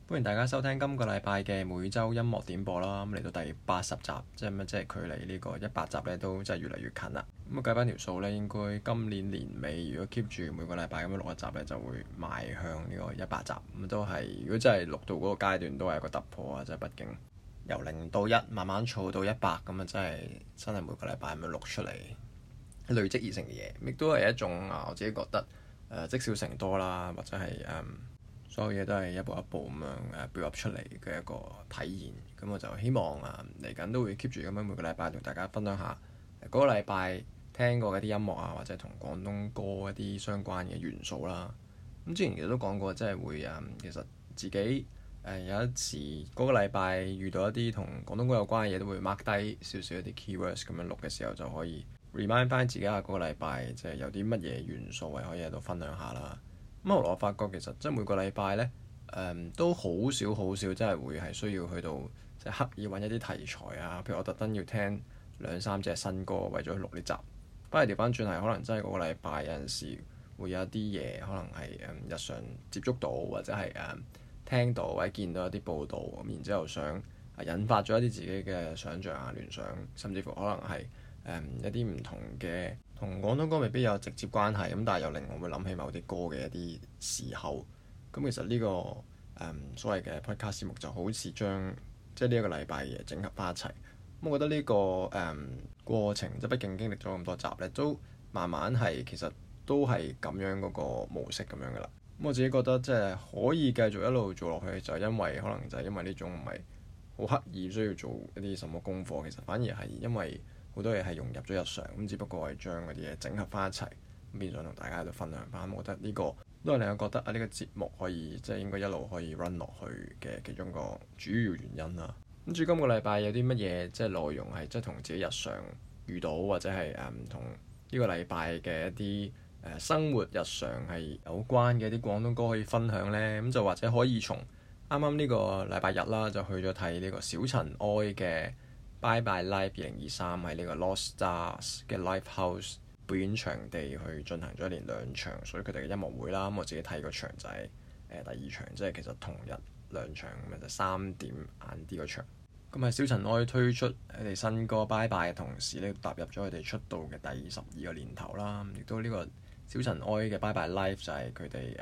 歡迎大家收聽今個禮拜嘅每週音樂點播啦。咁嚟到第80集，即係距離呢個100集咧都真係越嚟越近啦。咁計翻條數咧，應該今年年尾如果 keep 住每個禮拜咁樣錄一集咧，就會邁向呢個100集。咁都係如果真係錄到嗰個階段，都係一個突破啊！即係畢竟由0到1慢慢儲到100，咁啊真係每個禮拜咁樣錄出嚟累積而成嘅嘢，亦都係一種我自己覺得積少成多啦，或者係所有嘢都係一步一步咁樣build up出嚟嘅一個體驗。咁我就希望嚟緊都會 keep 住咁樣每個禮拜同大家分享下嗰個禮拜聽過嘅啲音樂啊，或者同廣東歌一啲相關嘅元素啦。咁之前其實都講過，即係會其實自己有一時嗰個禮拜遇到一啲同廣東歌有關嘅嘢，都會 mark 低少少一啲 keywords，咁樣錄嘅時候就可以 remind 翻自己下嗰個禮拜即係有啲乜嘢元素係可以喺度分享下啦。咁後來我發覺其實即係每個禮拜呢，都好少真係會係需要去到即係刻意揾一啲題材啊，譬如我特登要聽2-3隻新歌為咗錄呢集。不過調翻轉係可能真係嗰個禮拜有陣時會有一啲嘢，可能係日常接觸到或者係聽到或者見到一啲報道，咁然之後想引發咗一啲自己嘅想像啊、聯想，甚至乎可能係一啲唔同嘅同廣東歌未必有直接關係，咁但係又令我會諗起某啲歌嘅一啲時候。咁其實呢個所謂嘅 podcast 節目就好似將即係呢一個禮拜嘅嘢整合翻一齊。咁我覺得呢個過程即係畢竟經歷咗咁多集咧，都慢慢係其實都係咁樣嗰個模式咁樣噶啦。咁我自己覺得即係可以繼續一路做落去，就係因為可能就係因為呢種唔係好刻意需要做一啲什麼功課，其實反而係因為好多嘢係融入咗日常，咁只不過係將嗰啲嘢整合翻一齊，咁變相同大家喺度分享翻。我覺得呢個都係令我覺得呢個節目可以即係應該一路可以 run 落去嘅其中一個主要原因啦。咁至於今個禮拜有啲乜嘢即係內容係即係同自己日常遇到或者係同呢個禮拜嘅一啲生活日常係有關嘅一啲廣東歌可以分享呢？咁就或者可以從啱啱呢個禮拜日啦，就去咗睇呢個小塵埃嘅 Bye Bye Live 2023喺呢個 Lost Stars 嘅 Livehouse 表演場地去進行咗一連2場屬於佢哋嘅音樂會啦。咁我自己睇個場就係第2場，即係其實同日2場咁就3點晏啲個場。咁喺小塵埃推出佢哋新歌 Bye Bye 嘅同時咧，踏入咗佢哋出道嘅第12個年頭啦。亦都呢個小塵埃嘅 Bye Bye Live 就係佢哋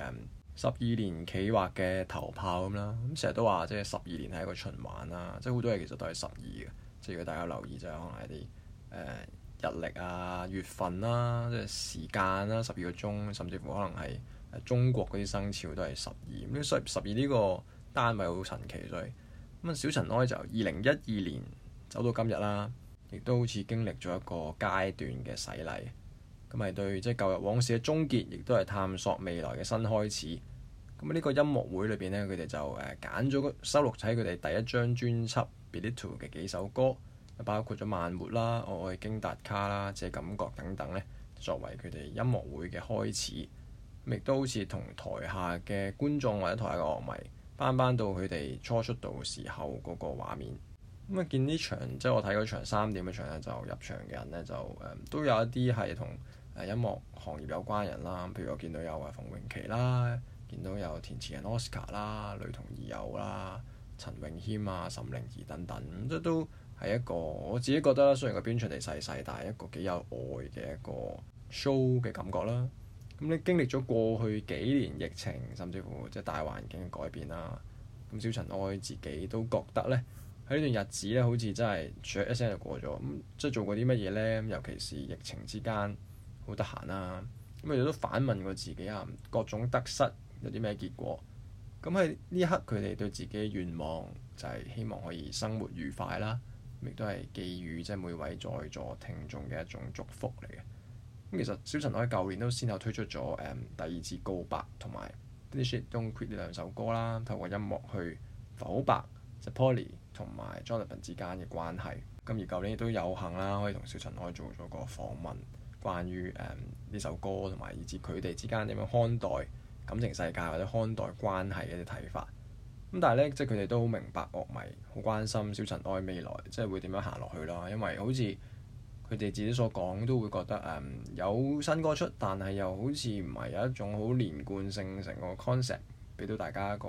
12年企劃嘅頭炮咁啦。咁成日都話即係12年係一個循環啦，即係好多嘢其實都係12嘅。即係如果大家留意就係可能係啲日曆啊、月份啦、即係時間啦、12個鐘，甚至乎可能係中國嗰啲生肖都係12。咁12呢個單位好神奇，所以咁小塵埃就2012年走到今日啦，亦都好似經歷咗一個階段嘅洗禮。咁係對即係舊日往事嘅終結，亦都係探索未來嘅新開始。咁呢個音樂會裏邊呢，佢哋就揀咗收錄喺佢哋第一張專輯 Belittle 嘅幾首歌，包括咗慢活啦、我愛京達卡啦、這感覺等等呢，作為佢哋音樂會嘅開始。亦都好似同台下嘅觀眾或者台下嘅樂迷翻到佢哋初出道時候嗰個畫面。咁見呢場即係我睇嗰場3點嘅場咧，就入場嘅人呢，就都有一啲係同音樂行業有關人啦。譬如我見到有馮穎琪啦，見到有填詞人 Oscar 啦、雷同二友啦、陳詠謙啊、岑寧兒等等，即都係一個我自己覺得雖然個表演場地細，但係一個幾有愛嘅一個 show 嘅感覺啦。咁你經歷咗過去幾年疫情，甚至乎即係大環境嘅改變啦。咁小塵埃自己都覺得呢，喺呢段日子呢，好似真係唰一聲就過咗。咁即係做過啲乜嘢呢？尤其是疫情之間好得閒啦。咁佢哋都反問過自己啊，各種得失有啲咩結果？咁喺呢一刻，佢哋對自己嘅願望就係希望可以生活愉快啦。亦都係寄予即係每位在座聽眾嘅一種祝福嚟嘅。咁其實小塵埃舊年都先後推出咗第2次告白同埋 Finish It Don't Quit 呢2首歌啦，透過音樂去剖白即係 Polly 同埋 Jonathan 之間嘅關係。咁而舊年亦都有幸啦，可以同小塵埃做咗個訪問，關於呢首歌同埋以至佢哋之間點樣看待感情世界或者看待關係嘅啲睇法。咁但係咧，即係佢哋都好明白樂迷好關心小塵埃未來即係會點樣行落去啦。因為好似佢哋自己所講，都會覺得有新歌出，但係又好似唔係有一種好連貫性成個 concept 俾到大家一個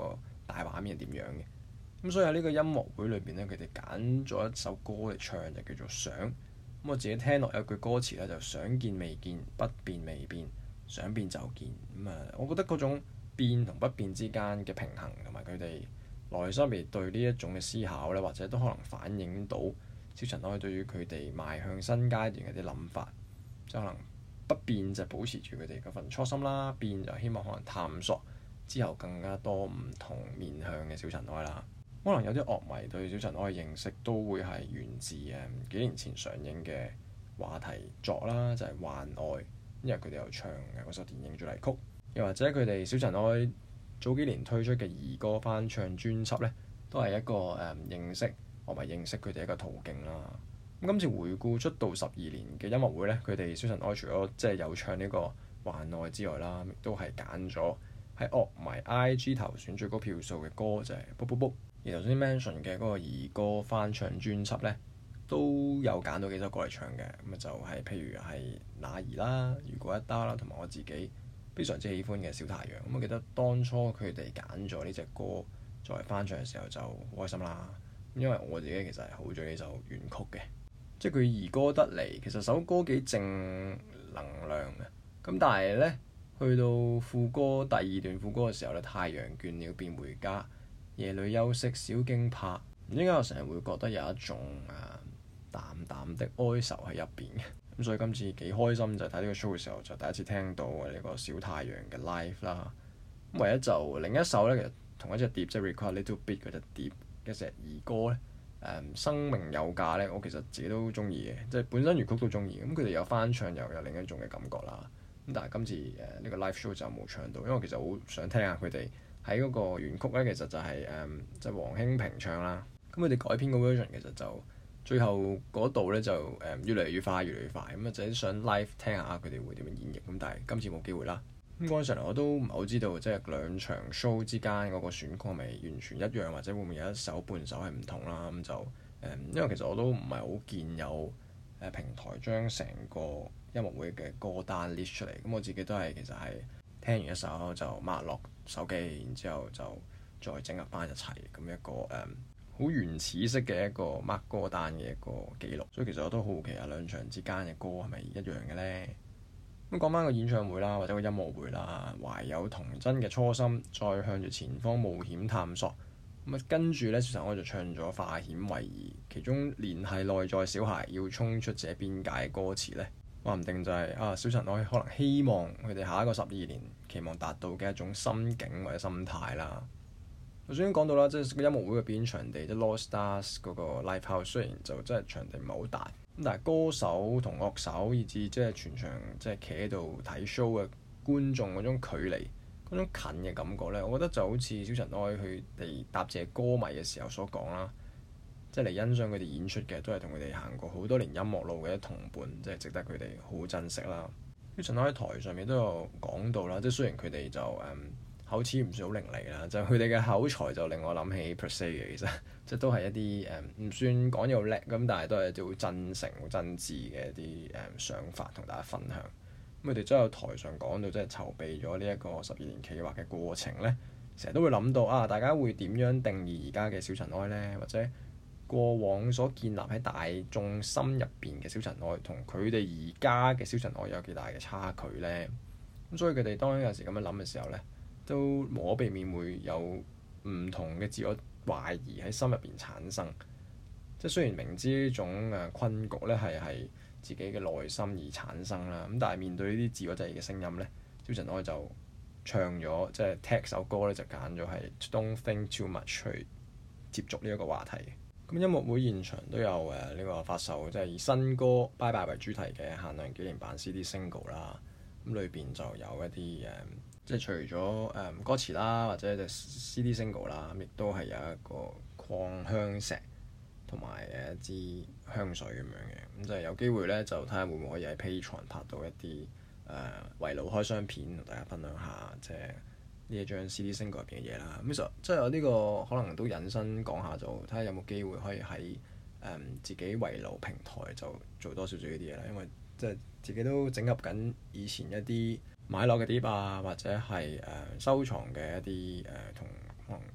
大畫面係點樣嘅。咁所以喺呢個音樂會裏邊咧，佢哋揀咗一首歌嚟唱，就叫做想。咁我自己聽落有句歌詞咧，就想見未見，不變未變，想變就見。我覺得嗰種變同不變之間嘅平衡，同埋佢哋內心入面對呢一種嘅思考咧，或者都可能反映到小塵埃對於佢哋邁向新階段嘅啲諗法。即可能不變就保持住佢哋嗰份初心啦，變就希望可能探索之後更加多唔同面向嘅小塵埃啦。可能有啲樂迷對小塵埃嘅認識都會係源自幾年前上映嘅話題作啦，就係《幻愛》，因為佢哋有唱嘅嗰首電影主題曲，又或者佢哋小塵埃早幾年推出嘅兒歌翻唱專輯呢，都係一個認識樂迷認識佢哋一個途徑啦。咁今次回顧出道12年嘅音樂會呢，佢哋小塵埃除咗即係有唱呢個《幻愛》之外啦，亦都係揀咗喺樂迷 IG 投選最高票數嘅歌，就係《卜卜卜》。而頭先 mention 嘅嗰個兒歌翻唱專輯呢，都有揀到幾首歌嚟唱嘅。咁就係譬如係那兒啦、如果一打啦，同埋我自己非常之喜歡嘅小太陽。我記得當初佢哋揀咗呢隻歌作為翻唱嘅時候就好開心啦，因為我自己其實係好中意呢首原曲嘅，即係佢兒歌得嚟，其實首歌幾正能量嘅。咁但係呢，去到副歌第2段副歌嘅時候呢，太陽倦了便回家，夜裏休息小驚怕，唔知點解我成日會覺得有一種淡淡的哀愁喺入邊嘅。咁所以今次幾開心，就睇呢個 show 嘅時候就第一次聽到呢個小太陽嘅 live 啦。咁唯一就另一首呢，其實同一隻碟即係 Require a Little Bit 嗰隻碟嘅隻兒歌呢，生命有價呢，我其實自己都中意嘅，即係本身原曲都中意。咁佢哋有翻唱又有另一種嘅感覺啦。咁但係今次呢個 live show 就冇唱到，因為我其實好想聽下佢哋喺嗰個原曲呢，其實就係即係黃興平唱啦。咁佢哋改編個 version 其實就最後嗰度呢，就越嚟越快，越嚟越快。咁就係想 live 聽下佢哋會點樣演繹。咁但係今次冇機會啦。咁嗰陣時我都唔係好知道，即係兩場 show 之間嗰個選曲係咪完全一樣，或者會唔會有一首半首係唔同啦？咁就因為其實我都唔係好見有平台將成個音樂會嘅歌單 list 出嚟。咁我自己都係其實係聽完一首就抹落手機，然之後就再整合翻一齊咁一個好原始式嘅一個 mark 歌單嘅一個記錄。所以其實我都好奇兩場之間嘅歌係咪一樣嘅呢？咁講翻個演唱會啦，或者個音樂會啦，懷有童真嘅初心，再向住前方冒險探索。咁跟住呢，小塵埃就唱咗化險為夷，其中聯繫內在小孩要衝出這邊界嘅歌詞呢，話唔定就係小塵埃可能希望佢哋下一個12年期望達到嘅一種心境或者心態啦。我先講到啦，即係個音樂會嘅表演場地，即係 Lost Stars 嗰個 Live House，雖然就真係場地唔係好大，咁但係歌手同樂手以至即係全場即係企喺度睇 show 嘅觀眾嗰種距離、嗰種近嘅感覺呢，我覺得就好似小塵埃佢哋答謝歌迷嘅時候所講啦，即係嚟欣賞佢哋演出嘅都係同佢哋行過好多年音樂路嘅同伴，即係值得佢哋好珍惜啦。小塵埃喺台上面都有講到啦，即係雖然佢哋就口齒唔算好伶俐啦，就佢哋嘅口才就令我諗起 per se 嘅，其實即係都係一啲唔算講嘢好叻咁，但係都係一啲好真誠、好真摯嘅一啲想法同大家分享。咁佢哋真係台上講到即係籌備咗呢一個12年企劃嘅過程呢，成日都會諗到大家會點樣定義而家嘅小塵埃呢？或者過往所建立喺大眾心入邊嘅小塵埃，同佢哋而家嘅小塵埃有幾大嘅差距呢？咁所以佢哋當有時咁樣諗嘅時候呢，都無可避免會有唔同嘅自我懷疑喺心入邊產生。即係雖然明知呢種困局咧係自己嘅內心而產生啦，咁但係面對呢啲自我質疑嘅聲音咧，小塵埃就唱咗即係踢首歌咧，就揀咗係 Don't Think Too Much 去接觸呢一個話題。咁音樂會現場都有呢個發售即係以新歌 Bye Bye 為主題嘅限量紀念版 CD Single 啦。咁裏邊就有一啲即係除咗歌詞啦，或者隻 CD Single 啦，亦都係有一個礦香石同埋一支香水咁樣嘅。咁就係有機會咧，就睇下會唔會可以喺 Patreon 拍到一啲圍爐開箱片，同大家分享下即係呢一張 CD Single 入邊嘅嘢啦。咁其實即係我呢個可能都引申講下，就睇下有冇機會可以喺自己圍爐平台就做多少少呢啲嘢啦。因為即係自己都整合緊以前一啲買落嘅碟啊，或者係收藏嘅一啲同可能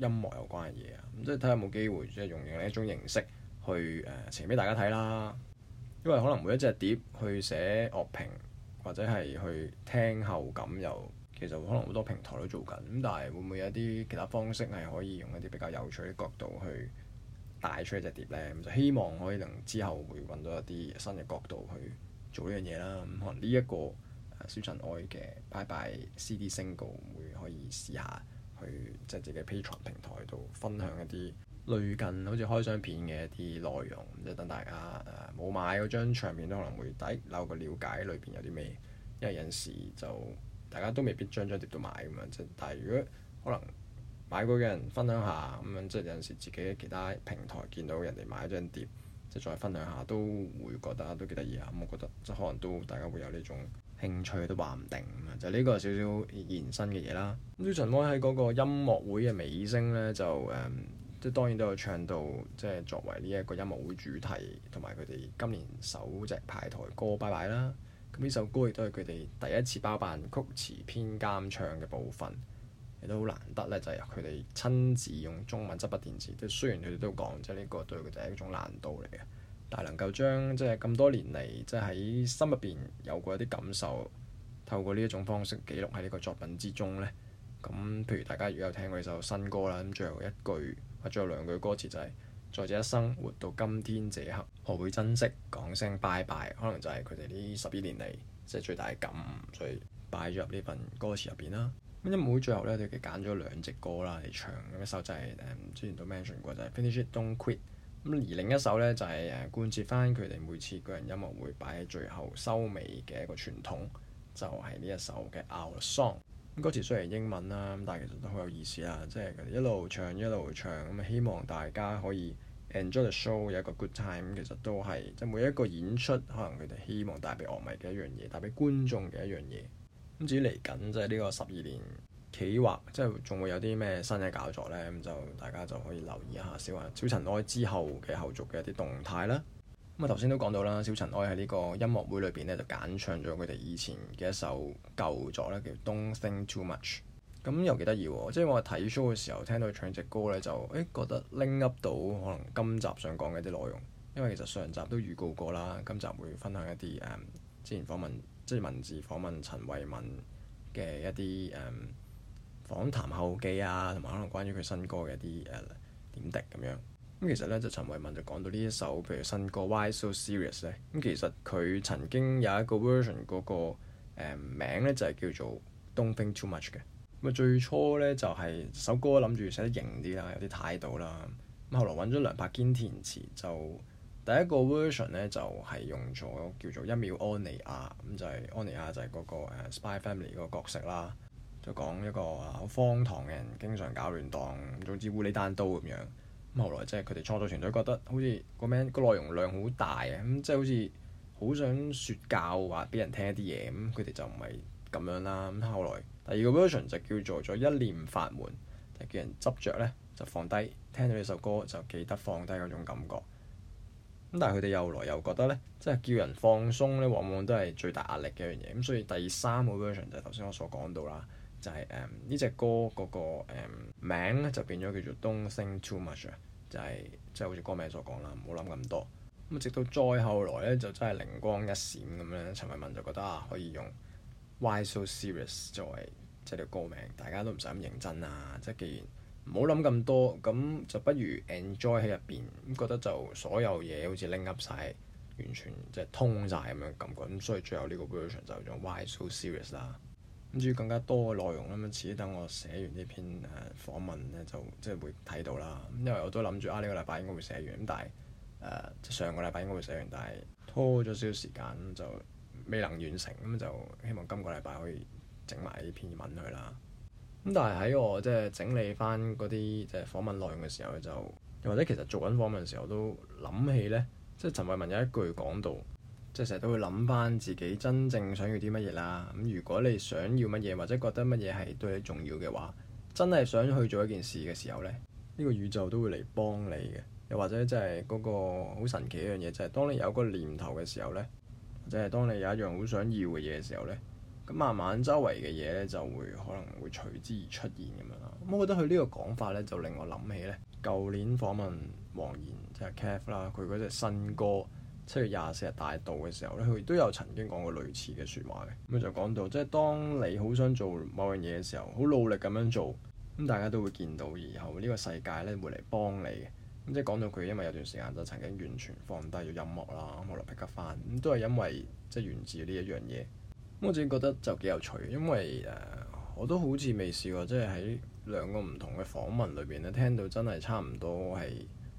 音樂有關嘅嘢啊，咁即係睇下有冇機會即係用另一種形式去呈俾大家睇啦。因為可能每一隻碟去寫樂評或者係去聽後感又其實可能好多平台都做緊，咁但係會唔會有一啲其他方式係可以用一啲比較有趣嘅角度去帶出一隻碟呢？咁就希望可以能之後會揾到一啲新嘅角度去做呢樣嘢啦。咁可能呢一個小塵埃嘅拜拜 CD single 會可以試下去即係自己 Patreon 平台度分享一啲類近好似開箱片嘅一啲內容，即係等大家冇買嗰張唱片都可能會有個了解裏邊有啲咩，因為有陣時就大家都未必張碟都買咁樣，即係但係如果可能買過嘅人分享下咁樣，即係有陣時自己喺其他平台見到人哋買咗張碟，即係再分享下都會覺得都幾得意啊！咁我覺得即係可能都大家會有呢種興趣都話唔定咁啊！就呢個少少延伸嘅嘢啦。咁小塵埃喺嗰個音樂會嘅尾聲咧，就即係當然都有唱到即係作為呢一個音樂會主題同埋佢哋今年首隻派台歌《拜拜》啦。咁呢首歌亦都係佢哋第一次包辦曲詞編監唱嘅部分，亦都好難得咧，就係佢哋親自用中文執筆填詞。即係雖然佢哋都講，即係呢個對佢哋係一種難度嚟嘅，但係能夠將即係咁多年嚟，即係喺心入邊有過一啲感受，透過呢一種方式記錄喺呢個作品之中咧。咁譬如大家如果有聽過呢首新歌啦，咁最後一句或者最後兩句歌詞就係、是、在這一生活到今天這刻，學會珍惜，講聲拜拜，可能就係佢哋呢12年嚟即係最大嘅感悟，所以擺咗入呢份歌詞入邊啦。咁音樂會最後咧，佢哋揀咗2隻歌啦嚟唱，咁一首就係之前都 mention 過就係 Finish It Don't Quit，咁而另一首咧就係貫徹翻佢哋每次個人音樂會擺喺最後收尾嘅一個傳統，就係呢一首嘅 Our Song。歌詞雖然係英文啦，咁但係其實都好有意思啦，即係佢哋一路唱一路唱，咁希望大家可以 enjoy the show， 有一個 good time。其實都係即係每一個演出，可能佢哋希望帶俾樂迷嘅一樣嘢，帶俾觀眾嘅一樣嘢。咁至於嚟緊即係呢個12年企劃，即係仲會有啲咩新嘅搞作呢？咁就大家就可以留意一下小塵埃之後嘅後續嘅一啲動態啦。咁啊頭先都講到啦，小塵埃喺呢個音樂會裏邊咧就揀唱咗佢哋以前嘅一首舊作咧，叫 Don't Think Too Much。咁又幾得意喎，即係我睇 show 嘅時候聽到佢唱隻歌咧，就覺得拎 up 到可能今集想講嘅一啲內容。因為其實上集都預告過啦，今集會分享一啲之前訪問即係文字訪問陳慧敏嘅一啲訪談後記啊，同埋可能關於佢新歌嘅一啲點滴咁樣。咁其實咧就陳慧敏就講到呢一首譬如新歌 Why So Serious 咧，咁其實佢曾經有一個 version 嗰個名咧就係叫做 Don't Think Too Much 嘅。咁啊最初咧就係首歌諗住寫得型啲啦，有啲態度啦。咁後來揾咗梁柏堅填詞，就第一個 version 咧就係用咗叫做1秒安妮亞，咁就係安妮亞就係嗰個Spy Family 嗰個角色啦，就講一個好荒唐嘅人，經常搞亂檔，總之烏里單刀咁樣。咁後來即係佢哋創作團隊覺得好似個內容量好大啊，咁即係好似好想説教話俾人聽一啲嘢，咁佢哋就唔係咁樣啦。咁後來第二個 version 就叫做一念法門，就叫人執着咧就放低，聽到呢首歌就記得放低嗰種感覺。咁但係佢哋又來又覺得咧，即係叫人放鬆咧，往往都係最大壓力嘅一樣嘢。咁所以第3個 version 就係頭先我所講到啦。就係呢隻歌嗰個名咧就變咗叫做 Don't Think Too Much 啊，就係即係好似歌名所講啦，唔好諗咁多。咁直到再後來咧，就真係靈光一閃咁樣，陳慧敏就覺得可以用 Why So Serious 作為即係條歌名，大家都唔使咁認真啊！即係既然唔好諗咁多，咁就不如 enjoy 喺入邊，咁覺得就所有嘢好似拎 up 晒，完全即係通晒咁樣感覺。咁所以最後呢個 version 就用 Why So Serious 啦。咁至於更加多嘅內容啦，咁遲啲等我寫完呢篇訪問咧，就即係會睇到啦。因為我都諗住呢個禮拜應該會寫完，咁但係即上個禮拜應該會寫完，但係拖咗少少時間，就未能完成。咁就希望今個禮拜可以整埋呢篇文去啦。咁但係喺我即係整理翻嗰啲即係訪問內容嘅時候咧，就又或者其實做緊訪問嘅時候都諗起咧，即係陳慧敏有一句講到。即係成日都會諗翻自己真正想要啲乜嘢啦。咁如果你想要乜嘢，或者覺得乜嘢係對你重要嘅話，真係想去做一件事嘅時候咧，呢個宇宙都會嚟幫你嘅。又或者即係嗰個好神奇一樣嘢，就係當你有個念頭嘅時候咧，或者係當你有一樣好想要嘅嘢嘅時候咧，咁慢慢周圍嘅嘢咧就會可能會隨之而出現咁樣啦。咁我覺得佢呢個講法咧就令我諗起咧，舊年訪問黃妍即係 Kev 啦，佢嗰隻新歌7月24日大道嘅時候咧，佢都有曾經講過類似嘅説話嘅。咁就講到即係當你好想做某樣嘢嘅時候，好努力咁樣做，咁大家都會見到以後呢個世界咧會嚟幫你嘅。咁即係講到佢因為有段時間就曾經完全放低咗音樂啦，後來 pick up 翻，咁都係因為即係源自呢一樣嘢。咁我自己覺得就幾有趣，因為我都好似未試過即係喺兩個唔同嘅訪問裏邊咧聽到真係差唔多係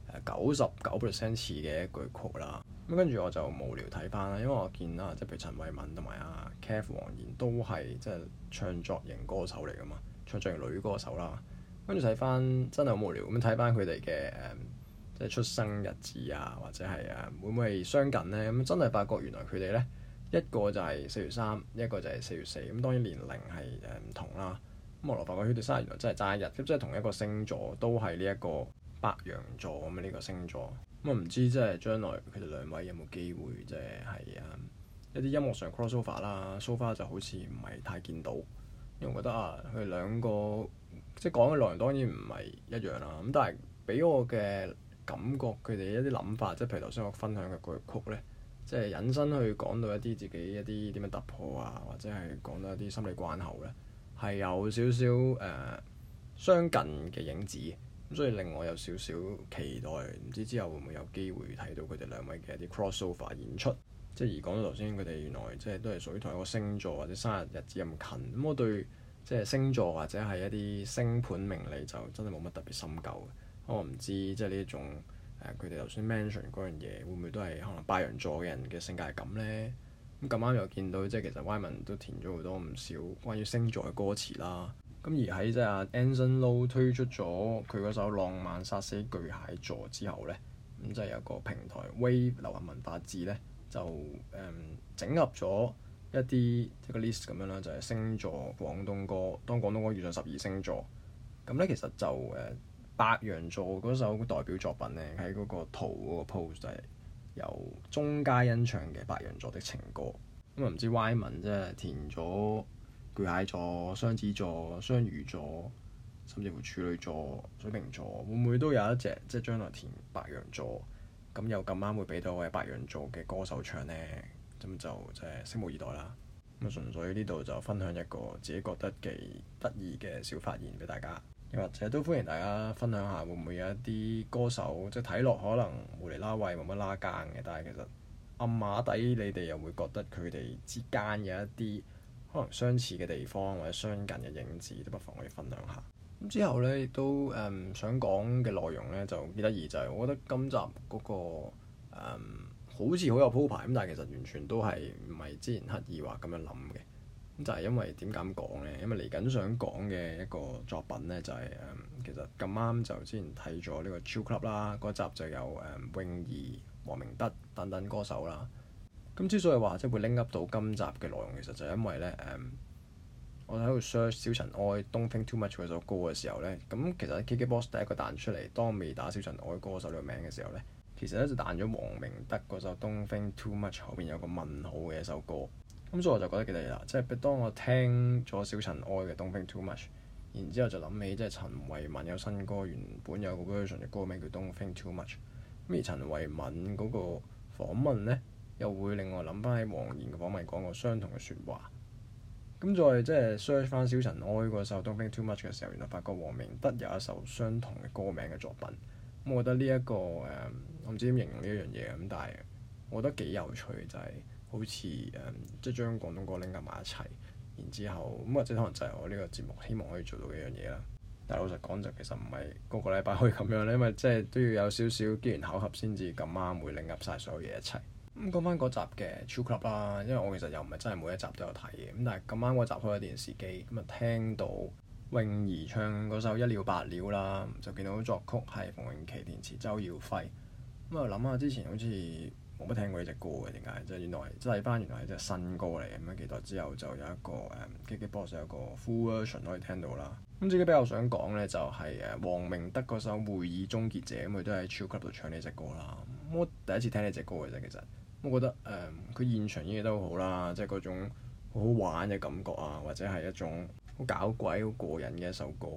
99% 似嘅一句曲啦。咁跟住我就無聊睇翻啦，因為我見啦，即係譬如陳慧敏同埋阿 Kev 黃妍都係即係唱作型歌手嚟噶嘛，唱作型女歌手啦。跟住睇翻真係好無聊咁睇翻佢哋嘅即係出生日子啊，或者係會唔會係相近呢？咁真係發覺原來佢哋呢，一個就係4月3，一個就係4月4。咁當然年齡係唔同啦。咁我來發覺佢哋生日原來真係爭一日，咁即係同一個星座，都係呢一個白羊座咁嘅呢個星座。咁我唔知即係將來佢哋兩位有冇機會即係一啲音樂上 crossover 啦。So far 就好似唔係太見到，因為我覺得佢哋兩個即係講嘅內容當然唔係一樣啦。咁但係俾我嘅感覺，佢哋一啲諗法，即係譬如頭先我分享嘅嗰句曲呢，即係引申去講到一啲自己一啲點樣突破啊，或者係講到一啲心理關口呢，係有少少相近嘅影子。咁所以令我有少少期待，唔知之後會唔會有機會睇到佢哋兩位嘅一啲 crossover 演出。即係而講到頭先，佢哋原來即係都係屬於同一個星座或者生日日子咁近。咁我對即係星座或者係一啲星盤命理就真係冇乜特別深究嘅。我唔知即係呢一種佢哋頭先 mention 嗰樣嘢會唔會都係可能白羊座嘅人嘅性格係咁呢？咁咁啱又見到即係其實 Wyman 都填咗好多唔少關於星座嘅歌詞啦。咁而喺即係阿 Anson Lo 推出咗佢嗰首《浪漫殺死巨蟹座》之後呢，咁即係有個平台 Wave 流行文化誌呢，就整合咗一啲一個 list 咁樣啦，就係星座廣東歌，當廣東歌遇上12星座。咁呢其實就白羊座嗰首代表作品呢，喺嗰個圖嗰個 post 就係由鐘嘉欣唱嘅《白羊座的情歌》。咁唔知 Wyman 即係填咗巨蟹座、雙子座、雙魚座，甚至乎處女座、水瓶座，會唔會都有一隻即係將來填白羊座？咁又咁啱會俾到位白羊座嘅歌手唱呢？咁就即係拭目以待啦。咁純粹呢度就分享一個自己覺得幾得意嘅小發現俾大家，又或者都歡迎大家分享下會唔會有一啲歌手即係睇落可能無厘啦位冇乜拉更嘅，但係其實暗碼底你哋又會覺得佢哋之間有一啲可能相似嘅地方或者相近嘅影子，都不妨可以分享下。咁之後呢，亦都想講嘅內容呢，就幾得意，就係我覺得今集嗰個好似好有鋪排咁，但係其實完全都係唔係之前刻意話咁樣諗嘅。咁就係因為點解咁講呢？因為嚟緊想講嘅一個作品呢，就係其實咁啱就之前睇咗呢個 Chill Club 啦，嗰集就有泳兒、黃明德等等歌手啦。咁之所以話即係會拎 up 到今集嘅內容，其實就係因為咧我喺度 search 小塵埃 Don't Think Too Much 嗰首歌嘅時候咧，咁其實 KKBOX 第一個彈出嚟，當未打小塵埃歌手呢個名嘅時候咧，其實咧就彈咗黃明德嗰首 Don't Think Too Much 後邊有個問號嘅一首歌。咁所以我就覺得幾得意啦，即係當我聽咗小塵埃嘅 Don't Think Too Much，然之後就諗起即係陳慧敏有新歌，原本有個 version 嘅歌名叫 Don't Think Too Much。咁而陳慧敏嗰個訪問咧，又會令我諗翻起黃妍嘅訪問講過相同嘅説話。咁再即係 search 翻小塵埃嗰首 Don't Think Too Much 嘅時候，原來發覺黃明德有一首相同嘅歌名嘅作品。咁我覺得呢一個我唔知點形容呢一樣嘢咁，但係我覺得幾有趣，就係好似即係將廣東歌拎埋一齊，然之後咁或者可能就係我呢個節目希望可以做到嘅一樣嘢啦。但係老實講就其實唔係個個禮拜可以咁樣咧，因為即係都要有少少機緣巧合先至咁啱會拎入晒所有嘢一齊。咁講翻嗰集嘅 Chill Club 啦，因為我其實又唔係真係每一集都有睇嘅，咁但係咁啱嗰集開咗電視機，咁啊聽到泳兒唱嗰首一了百了啦，就見到作曲係馮穎琪，填詞周耀輝。咁啊諗下之前好似冇乜聽過呢隻歌嘅，點解？即係原來即係翻原來係隻新歌嚟，咁樣幾代之後就有一個KKBOX 有一個 full version 可以聽到啦。咁自己比較想講咧就係黃明德嗰首會議終結者，咁佢都喺 Chill Club 度唱呢隻歌啦。我第一次聽呢隻歌嘅啫，其實我覺得佢現場演繹得好好啦，即係嗰種好好玩嘅感覺啊，或者係一種好搞鬼、好過癮嘅一首歌。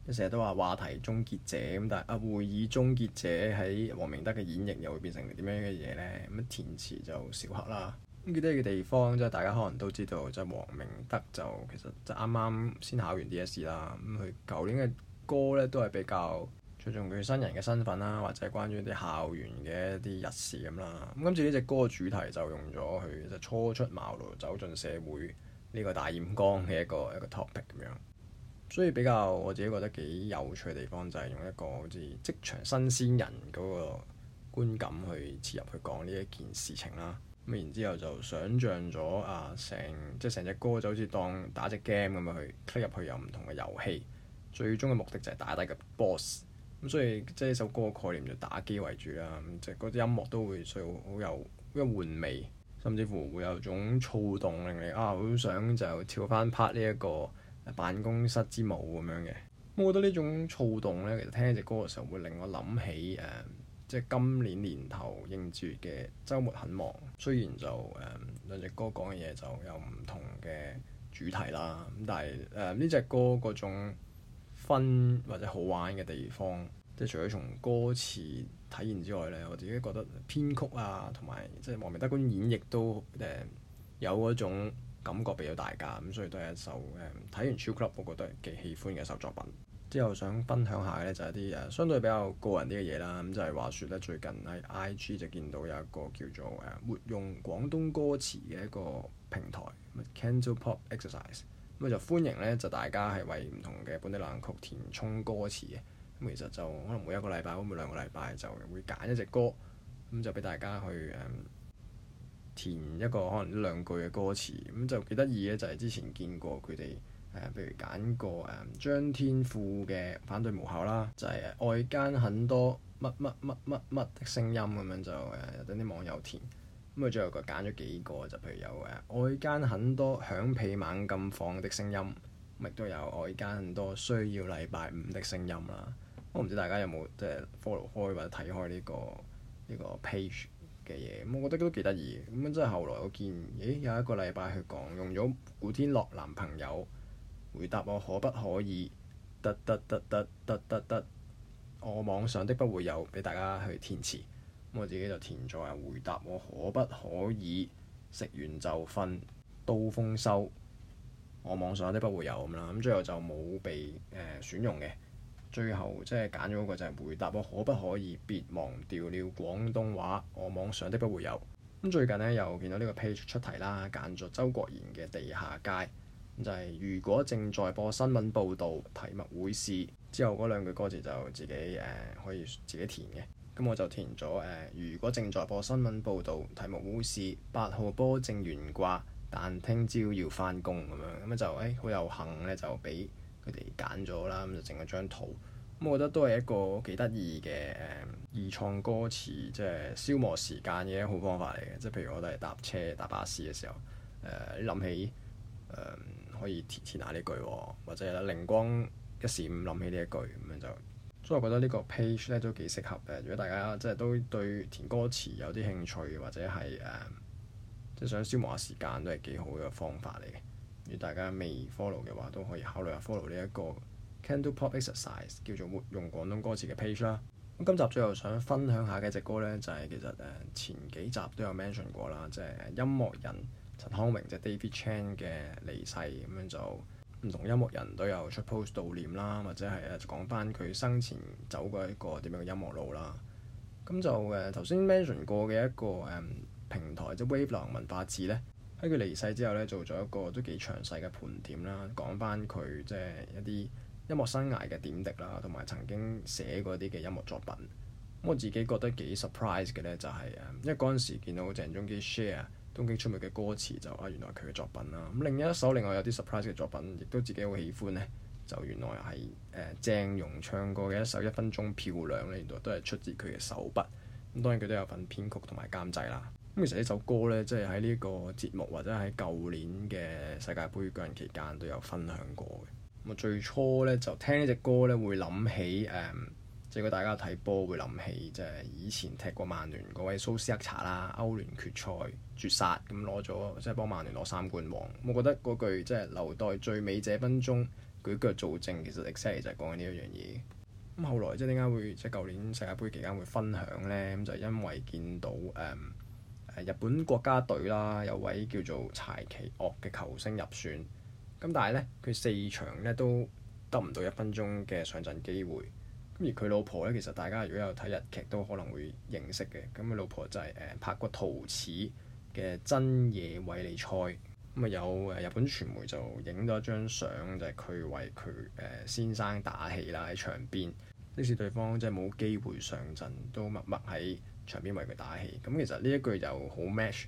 成日都話話題終結者咁，但係會議終結者喺黃明德嘅演繹又會變成點樣嘅嘢呢？咁填詞就小克啦。咁記得嘅地方即係大家可能都知道，即係黃明德就其實就啱啱先考完 DSE 啦。咁佢舊年嘅歌咧都係比較注重佢新人嘅身份啦，或者係關於啲校園嘅一啲日事咁啦。咁今次呢隻歌嘅主題就用咗佢就初出茅廬走進社會呢個大染缸嘅一個 topic 咁樣。所以比較我自己覺得幾有趣嘅地方就係用一個好似職場新鮮人嗰個觀感去切入去講呢一件事情啦。咁然之後就想像咗成隻歌就好似當打隻 game 咁樣去 click 入去有唔同嘅遊戲，最終嘅目的就係打低個 boss。咁所以即係呢首歌嘅概念就打機為主啦。咁即係嗰啲音樂都會需要好有玩味，甚至乎會有種躁動令你好想就跳翻 part 呢一個辦公室之舞咁樣嘅。我覺得呢種躁動呢，其實聽呢隻歌嘅時候會令我諗起即係今年年頭應節嘅週末很忙。雖然就兩隻歌講嘅嘢就有唔同嘅主題啦，咁但係呢隻歌嗰種分或者好玩嘅地方，即係除咗從歌詞體現之外呢，我自己覺得編曲啊同埋即係黃明德嗰種演繹都有嗰種感覺俾到大家，咁所以都係一首睇完超 club 我覺得幾喜歡嘅一首作品。之後想分享下嘅咧就係一啲相對比較個人啲嘅嘢啦，咁就係話説咧最近喺 IG 就見到有一個叫做活用廣東歌詞嘅一個平台，Cantopop Exercise，咁就歡迎咧就大家係為唔同嘅本地流行曲填充歌詞嘅，咁其實就可能每一個禮拜或每兩個禮拜就會揀一隻歌，咁就俾大家去填一個可能一兩句嘅歌詞，咁就幾得意嘅就係之前見過佢哋。譬如揀過張天賦嘅反對無效啦，就係外間很多乜乜乜乜乜的聲音咁樣就等啲網友填，咁佢最後佢揀咗幾個，就譬如有外間很多響屁猛咁放的聲音，亦都有外間很多需要禮拜五的聲音啦。我唔知大家有冇即係 follow 開或者睇開呢個 page 嘅嘢，咁我覺得都幾得意。咁即係後來我見有一個禮拜去講用咗古天樂男朋友。回答我可不可以？我妄想的不會有，俾大家去填詞。咁我自己就填咗回答我可不可以？食完就瞓，刀鋒收。我妄想的不會有咁啦。咁最後就冇被選用嘅。最後即係揀咗嗰個就係回答我可不可以？別忘掉了廣東話。我妄想的不會有。咁最近呢，又見到呢個 page 出題啦，揀咗周國賢嘅地下街。就係如果正在播新聞報導，題目會是之後嗰兩句歌詞就自己可以自己填嘅。咁我就填咗如果正在播新聞報導，題目會是8號波正懸掛，但聽朝要返工咁樣。咁就好有幸咧，就俾佢哋揀咗啦。咁就整咗張圖。咁我覺得都係一個幾得意嘅二創歌詞，即係消磨時間嘅一個好方法嚟嘅。即係譬如我都係搭車搭巴士嘅時候，你諗起可以填下呢句，或者靈光一閃諗起呢一句咁樣就，所以我覺得呢個 page 咧都幾適合嘅。如果大家即係都對填歌詞有啲興趣，或者係即係想消磨下時間，都係幾好嘅方法嚟嘅。如果大家未 follow 嘅話，都可以考慮下 follow 呢一個 Cantopop Exercise 叫做活用廣東歌詞嘅 page 啦。咁今集最後想分享下嘅一隻歌咧，就係其實前幾集都有 mention 過啦，即係音樂人陳康榮即係 David Chan 嘅離世，咁樣就唔同音樂人都有出 post 悼念啦，或者係講翻佢生前走過一個點樣嘅音樂路啦。咁就頭先 mention 過嘅一個平台即係 Wave 流行文化誌咧，喺佢離世之後咧做咗一個都幾詳細嘅盤點啦，講翻佢即係一啲音樂生涯嘅點滴啦，同埋曾經寫過啲嘅音樂作品。咁我自己覺得幾 surprise 嘅咧，就係因為嗰陣時見到鄭中基 share東京出沒嘅歌詞就原來佢嘅作品啦。咁另一首另外有啲 surprise 嘅作品，亦都自己好喜歡呢，就原來係鄭融唱過嘅一首1分鐘漂亮咧，原來都係出自佢嘅手筆。咁當然佢都有份編曲同埋監製啦。咁其實呢首歌呢，即係喺呢個節目或者喺舊年嘅世界盃舉行期間都有分享過嘅。咁最初呢，就聽呢隻歌呢，會諗起即係如果大家睇波會諗起，即係以前踢過曼聯嗰位蘇斯克查啦，歐聯決賽絕殺咁攞咗，即係幫曼聯攞3冠王。我覺得嗰句即係留待最美這分鐘， 舉腳做證，其實 exactly 就係講緊呢一樣嘢。咁後來即係點解會即係舊年世界盃期間會分享咧？咁就係因為見到日本國家隊啦，有位叫做柴崎岳嘅球星入選，咁但係咧佢4場咧都得唔到1分鐘嘅上陣機會。咁而佢老婆咧，其實大家如果有睇日劇都可能會認識嘅。咁佢老婆就係拍過《桃矢》嘅真野惠利菜。咁啊有日本傳媒就影咗一張相，就係佢為佢先生打氣啦喺場邊，即使對方即係冇機會上陣，都默默喺場邊為佢打氣。咁其實呢一句就好 match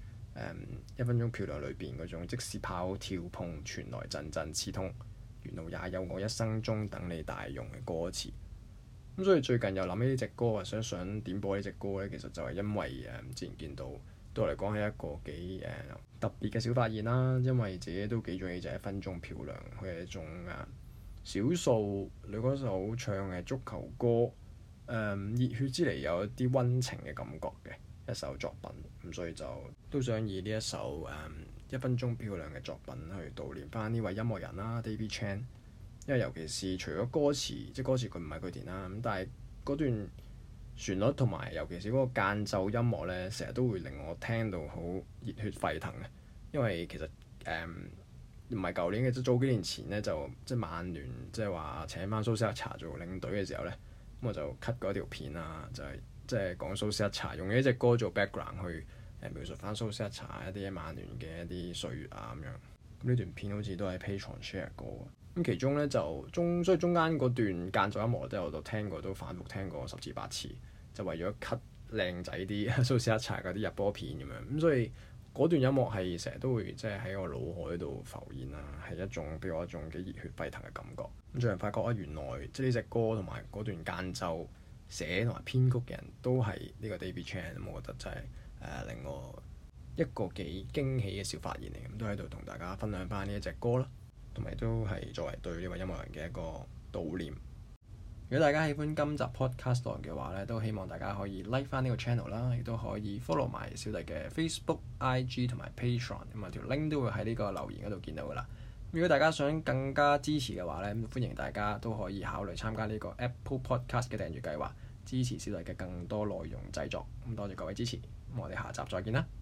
1分鐘漂亮裏邊嗰種即使跑跳碰傳來陣陣刺痛，沿路也有我一生中等你大用嘅歌詞。咁所以最近又諗起呢隻歌啊，想點播呢隻歌咧，其實就係因為之前見到對我嚟講係一個幾特別嘅小發現啦。因為自己都幾中意就1分鐘漂亮，佢係一種少數女歌手唱嘅足球歌，熱血之嚟有一啲溫情嘅感覺嘅一首作品。咁所以就都想以呢一首1分鐘漂亮嘅作品去悼念翻呢位音樂人啦，David Chan。因為尤其是除咗歌詞，即係歌詞佢唔係佢填啦，咁但係嗰段旋律同埋尤其是嗰個間奏音樂咧，成日都會令我聽到好熱血沸騰嘅。因為其實唔係舊年嘅，即係早幾年前咧，就即係曼聯即係話請翻蘇斯克查做領隊嘅時候咧，咁我就 cut 過一條片啊，就係即係講蘇斯克查用呢隻歌做 background 去描述翻蘇斯克查一啲曼聯嘅一啲歲月啊咁樣。咁呢段片好似都係 Patreon share 過。咁其中咧所以中間嗰段間奏音樂我都聽過，都反覆聽過10次8次，就為咗 cut 靚仔啲蘇斯克查嗰啲入波片咁樣。咁所以嗰段音樂係成日都會即係喺我腦海度浮現啦，係一種俾我一種幾熱血沸騰嘅感覺。咁最近發覺原來即係呢隻歌同埋嗰段間奏寫同埋編曲嘅人都係呢個 David Chan，我覺得真係令我一個幾驚喜嘅小發現嚟。咁都喺度同大家分享翻呢一隻歌啦。同埋都係作為對呢位音樂人嘅一個悼念。如果大家喜歡今集 podcast 嘅話咧，都希望大家可以 like 翻呢個 channel 啦，亦都可以 follow 埋小弟嘅 Facebook、IG 同埋 Patreon，咁啊條 link 都會喺呢個留言嗰度見到噶啦。如果大家想更加支持嘅話咧，歡迎大家都可以考慮參加呢個 Apple Podcast 嘅訂閱計劃，支持小弟嘅更多內容製作。咁多謝各位支持，咁我哋下集再見啦。